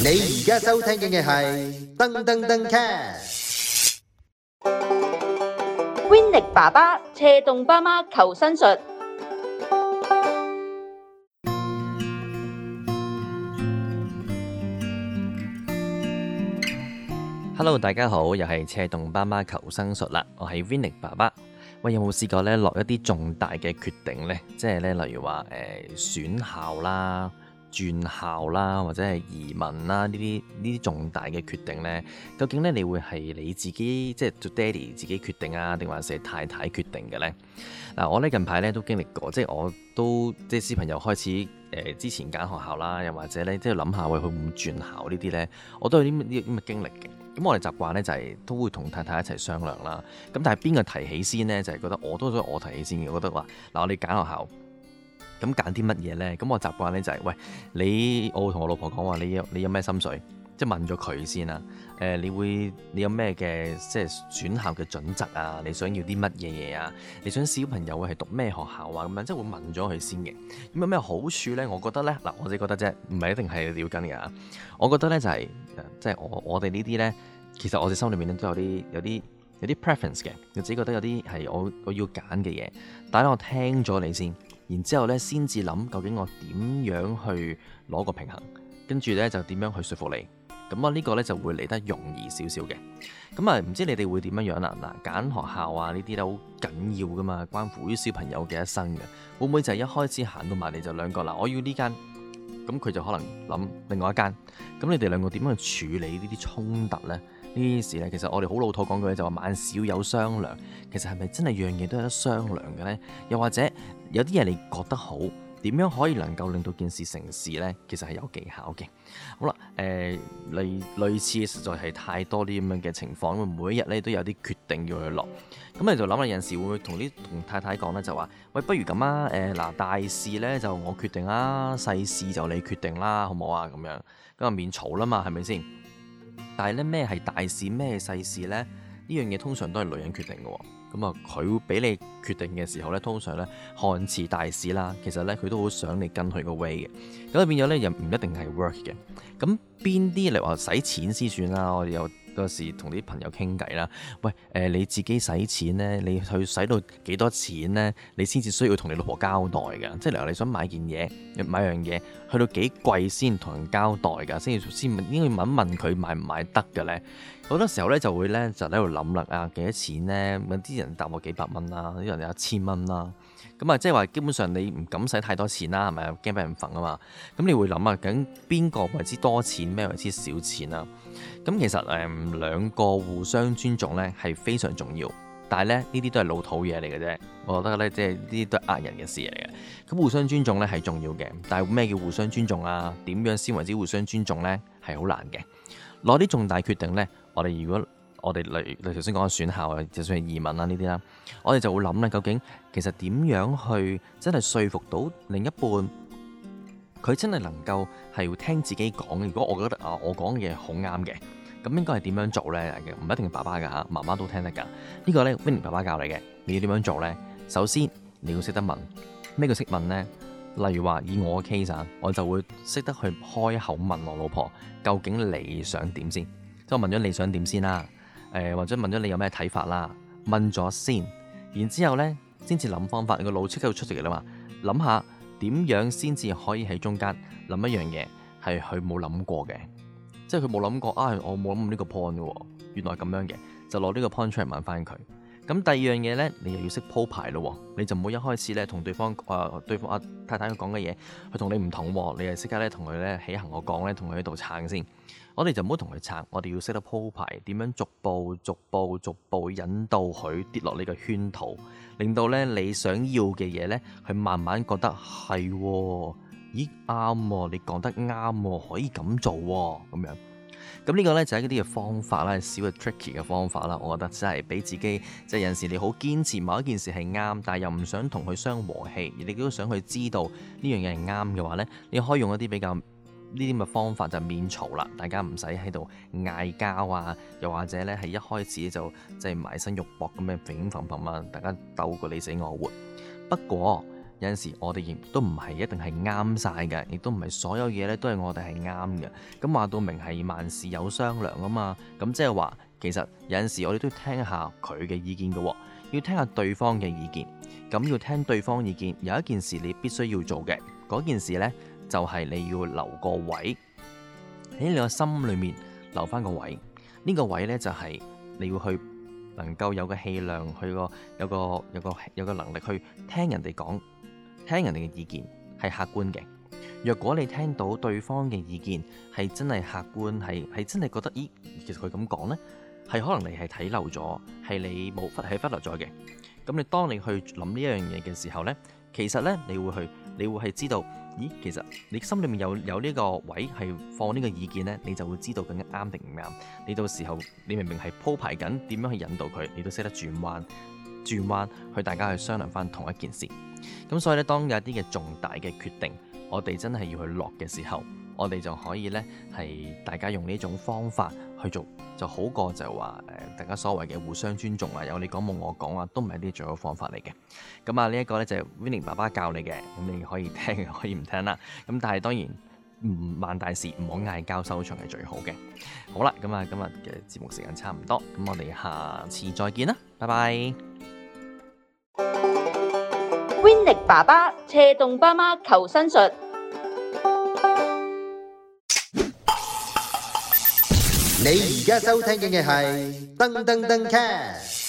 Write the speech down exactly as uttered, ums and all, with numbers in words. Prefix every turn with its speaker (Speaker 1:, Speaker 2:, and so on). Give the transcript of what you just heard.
Speaker 1: 你而家收聽嘅係噔噔噔 cast。
Speaker 2: Winnie 爸爸斜動爸媽求生術。
Speaker 3: Hello， 大家好，又係斜動爸媽求生術啦。我係 Winnie 爸爸。喂，有冇試過咧落一啲重大嘅決定呢？即係咧，例如話誒、呃、選校啦、轉校啦，或者係移民啦，呢啲呢啲重大嘅決定呢，究竟咧你會係你自己即係做爹哋自己決定啊，定還是係太太決定嘅呢？嗱，我咧近排咧都經歷過，即係我都即係小朋友開始誒、呃、之前揀學校啦，又或者咧即係諗下喂佢會唔會轉校呢啲呢，我都有啲啲咁嘅經歷嘅。咁我哋習慣咧就係都會同太太一齊商量啦。咁但係邊個提起先呢？就係、是、覺得我都想我提起先嘅。我覺得話嗱，我哋揀學校，咁揀啲乜嘢呢？咁我習慣咧就係、是、喂你，我會同我老婆講話，你有你有咩心水，即係問咗佢先啦。誒、呃，你會你有咩嘅即係選校嘅準則啊？你想要啲乜嘢嘢啊？你想小朋友係讀咩學校啊？咁樣即係會問咗佢先嘅。咁有咩好處呢？我覺得呢，嗱，我自己覺得啫，唔係一定係要跟嘅。我覺得呢就係、是、即係我我哋呢啲呢。其實我哋心裏面都有啲有啲有啲 preference 嘅，我自己覺得有啲係我我要揀嘅嘢，但係我聽咗你先，然之後咧先至諗究竟我點樣去攞個平衡，跟住咧就點樣去說服你，咁啊呢個咧就會嚟得容易少少嘅。咁啊唔知你哋會點樣樣啦？嗱，揀學校啊呢啲咧好緊要噶嘛，關乎於小朋友嘅一生嘅，會唔會就係一開始行到埋嚟就兩個嗱，我要呢間，咁佢就可能諗另外一間，咁你哋兩個點樣去處理呢啲衝突呢？呢啲事呢，其實我哋好老土講句就話萬事要有商量，其實係咪真係樣嘢都有得商量嘅呢？又或者有啲嘢你覺得好，點樣可以能夠令到件事成事呢？其實係有技巧嘅。好啦，誒、呃、類類似嘅實在係太多啲咁樣嘅情況，因為每一日咧都有啲決定要去落，咁你就諗下有陣時會唔會同啲同太太講呢？就話喂，不如咁啊，誒、呃、嗱大事呢就我決定啦，細事就你決定啦，好唔好啊？咁樣咁啊免嘈啦嘛，係咪先？但係咧咩係大事咩係細事呢？呢樣嘢通常都係女人決定嘅喎。咁啊佢俾你決定嘅時候呢，通常呢看似大事啦，其實呢，佢都好想你跟佢個 way 嘅。咁啊變咗呢，又唔一定係 work 嘅。咁邊啲嚟話使錢先算啦？我哋有嗰時同啲朋友傾偈啦。喂誒、呃、你自己使錢呢，你去使到幾多錢呢？你先至需要同你老婆交代㗎。即係例如你想買件嘢買樣嘢去到幾貴先同人交代㗎，先先應該問一問佢買唔買得嘅呢？好多時候咧就會咧就喺度諗啦，啊幾多錢呢？有啲人答我幾百蚊啦，啲人有一千蚊啦。咁啊，即係話基本上你唔敢使太多錢啦，係咪啊？驚俾人揈啊嘛。咁你會諗啊，究竟邊個為之多錢，咩為之少錢啊？咁其實誒兩個互相尊重咧係非常重要，但係咧呢啲都係老土嘢嚟嘅啫。我覺得咧即係呢啲都係呃人嘅事嚟嘅。咁互相尊重咧係重要嘅，但係咩叫互相尊重啊？點樣先為之互相尊重咧？係好難嘅。攞啲重大決定咧，我哋如果我哋例如頭先講嘅選校啊，就算係移民啦呢啲啦，我哋就會諗咧，究竟其實點樣去真係說服到另一半，佢真係能夠係要聽自己講。如果我覺得啊，我講嘅嘢好啱嘅，咁應該係點樣做呢？唔一定係爸爸㗎嚇，媽媽都聽得㗎。呢個呢 Winnie 爸爸教你嘅，你要點樣做呢？首先你要識得問，咩叫識問呢？例如話以我嘅 case 啊，我就會識得去開口問我老婆，究竟你想點先？即係我問咗你想點先啦，誒、呃、或者問咗你有咩睇法啦，問咗先，然之後呢，先至諗方法，你個腦即刻就出嚟啦嘛，諗下點樣先至可以喺中間諗一樣嘢係佢冇諗過嘅，即係佢冇諗過啊，我冇諗呢個 point 嘅喎，原來咁樣嘅，就攞呢個 point 出嚟問翻佢。咁第二樣嘢呢，你又要識鋪排咯，你就唔好一開始呢同對方啊、呃、對方啊太太講嘅嘢，佢同你唔同，你係即刻呢同佢呢起行我講呢，同佢喺度撐先。我哋就唔好同佢撐，我哋要識得鋪排，點樣逐步逐步逐步引導佢跌落呢個圈套，令到呢你想要嘅嘢呢，佢慢慢覺得係，咦啱喎，你講得啱喎，可以咁做喎，咁樣。咁呢個呢，就係一啲嘅方法啦，少嘅 tricky 嘅方法啦。我覺得真係俾自己，即係有陣時你好堅持某一件事係啱，但係又唔想同佢相和氣，而你都想去知道呢樣嘢係啱嘅話呢，你可以用一啲比較呢啲咁嘅方法就免嘈啦，大家唔使喺度嗌交啊，又或者呢係一開始就即係埋身肉搏咁樣揈揈揈啊，大家鬥個你死我活。不過有陣時我哋亦都唔係一定係啱晒嘅，亦都唔係所有嘢咧都係我哋係啱嘅。咁話到明係萬事有商量啊嘛，咁即係話其實有陣時我哋都要聽下佢嘅意見嘅，要聽下對方嘅意見。咁要聽對方意見，有一件事你必須要做嘅，嗰件事呢，就係你要留個位喺你個心裏面留翻個位。呢個位呢，就係你要去能夠有個氣量，去個有個有個有個能力去聽人哋講，聽人哋嘅意見係客觀嘅。若果你聽到對方嘅意見係真係客觀，係係真係覺得，咦，其實佢咁講呢，係可能你係睇漏咗，係你冇忽係忽略咗嘅。咁你當你去諗呢一樣嘢嘅時候呢，其實呢，你會去，你會係知道，咦，其實你心裏面有有呢個位係放呢個意見呢，你就會知道究竟啱定唔啱。你到時候你明明係鋪排緊點樣去引導佢，你都識得轉彎，轉彎去大家去商量翻同一件事。咁所以呢，當有一啲嘅重大嘅決定，我哋真係要去落嘅時候，我哋就可以呢，係大家用呢種方法去做，就好過就話誒、呃、大家所謂嘅互相尊重啊，有你講冇我講啊，都唔係啲最好方法嚟嘅。咁啊呢一個呢，就係 Winnie 爸爸教你嘅，咁你可以聽可以唔聽啦。咁但係當然唔萬大事唔好嗌交收場係最好嘅。好啦，咁啊今日嘅節目時間差唔多，咁我哋下次再見啦，拜拜。
Speaker 2: Winnie 爸爸斜動爸媽求生術。
Speaker 1: 你而家收聽嘅係噔噔噔 cast。